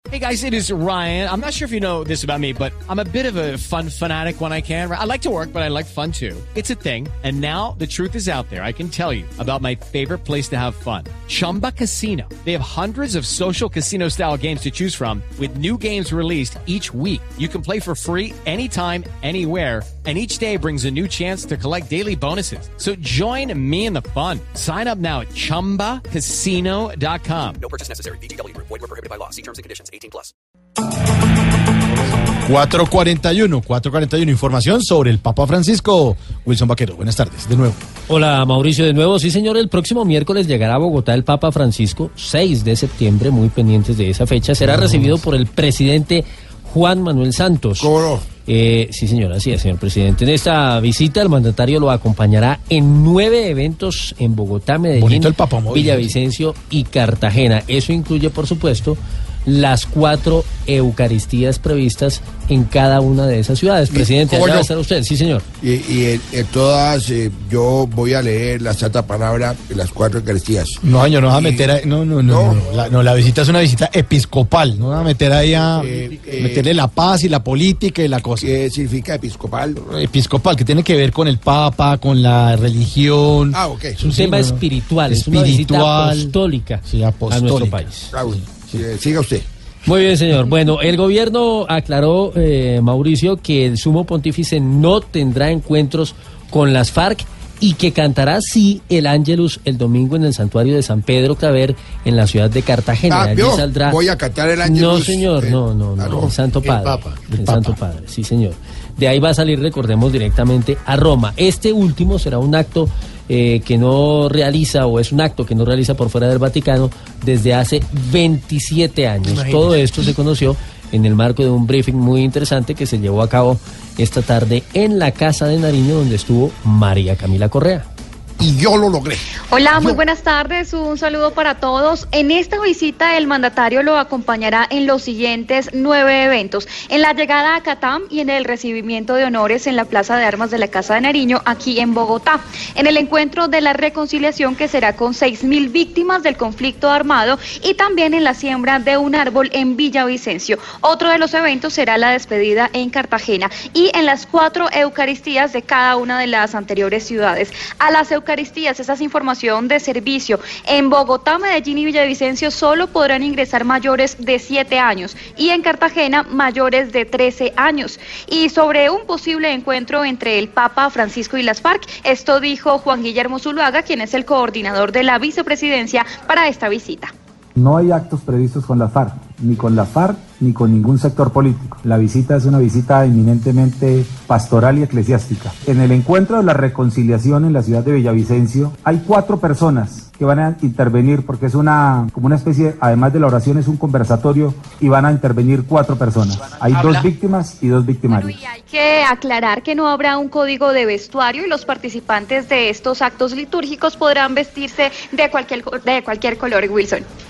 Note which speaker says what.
Speaker 1: Hey guys, it is Ryan. I'm not sure if you know this about me, but I'm a bit of a fun fanatic when I can. I like to work, but I like fun too. It's a thing. And now the truth is out there. I can tell you about my favorite place to have fun. Chumba Casino. They have hundreds of social casino style games to choose from with new games released each week. You can play for free anytime, anywhere. And each day brings a new chance to collect daily bonuses. So join me in the fun. Sign up now at ChumbaCasino.com.
Speaker 2: No purchase necessary. VGW Group. Void where prohibited by law. See terms and conditions. 18+.
Speaker 3: 4:41, información sobre el Papa Francisco. Wilson Vaquero, buenas tardes, de nuevo.
Speaker 4: Hola Mauricio, de nuevo. Sí señor, el próximo miércoles llegará a Bogotá el Papa Francisco, 6 de septiembre, muy pendientes de esa fecha. Será recibido por el presidente Juan Manuel Santos.
Speaker 3: ¿Cómo no?
Speaker 4: Sí señor, así es, señor presidente. En esta visita el mandatario lo acompañará en 9 eventos en Bogotá, Medellín, Villavicencio y Cartagena. Eso incluye, por supuesto, las 4 Eucaristías previstas en cada una de esas ciudades. Presidente, allá va a estar usted, sí señor.
Speaker 5: Y en todas yo voy a leer la santa palabra de las 4 Eucaristías.
Speaker 3: No, señor, no va a meter ahí, no, la visita es una visita episcopal, no va a meter ahí a meterle la paz y la política y la cosa.
Speaker 5: ¿Qué significa episcopal?
Speaker 3: Episcopal, que tiene que ver con el Papa, con la religión.
Speaker 5: Ah, ok.
Speaker 4: Es un tema espiritual, es una visita apostólica, a nuestro país.
Speaker 5: Bravo. Siga usted.
Speaker 4: Muy bien, señor. Bueno, el gobierno aclaró, Mauricio, que el sumo pontífice no tendrá encuentros con las FARC y que cantará sí el Ángelus el domingo en el santuario de San Pedro Claver en la ciudad de Cartagena.
Speaker 5: Allí saldrá. Voy a cantar el Ángelus.
Speaker 4: No, señor, no, el Santo Padre. El Santo Padre, sí, señor. De ahí va a salir, recordemos, directamente a Roma. Este último será un acto que no realiza, o es un acto que no realiza por fuera del Vaticano desde hace 27 años. Imagínate. Todo esto se conoció en el marco de un briefing muy interesante que se llevó a cabo esta tarde en la Casa de Nariño, donde estuvo María Camila Correa.
Speaker 5: Y yo lo logré.
Speaker 6: Hola, muy buenas tardes, un saludo para todos. En esta visita el mandatario lo acompañará en los siguientes 9 eventos: en la llegada a Catam y en el recibimiento de honores en la Plaza de Armas de la Casa de Nariño, aquí en Bogotá, en el encuentro de la reconciliación que será con 6.000 víctimas del conflicto armado y también en la siembra de un árbol en Villavicencio. Otro de los eventos será la despedida en Cartagena y en las 4 Eucaristías de cada una de las anteriores ciudades. A las Eucaristías, esa es información de servicio. En Bogotá, Medellín y Villavicencio solo podrán ingresar mayores de 7 años y en Cartagena mayores de 13 años. Y sobre un posible encuentro entre el Papa Francisco y las FARC, esto dijo Juan Guillermo Zuluaga, quien es el coordinador de la vicepresidencia para esta visita.
Speaker 7: No hay actos previstos con las FARC, ni con la FARC, ni con ningún sector político. La visita es una visita eminentemente pastoral y eclesiástica. En el encuentro de la reconciliación en la ciudad de Villavicencio, hay 4 personas que van a intervenir, porque es como una especie, además de la oración, es un conversatorio, y van a intervenir 4 personas. Hay 2 víctimas y 2 victimarios.
Speaker 6: Bueno, y hay que aclarar que no habrá un código de vestuario y los participantes de estos actos litúrgicos podrán vestirse de cualquier color, Wilson.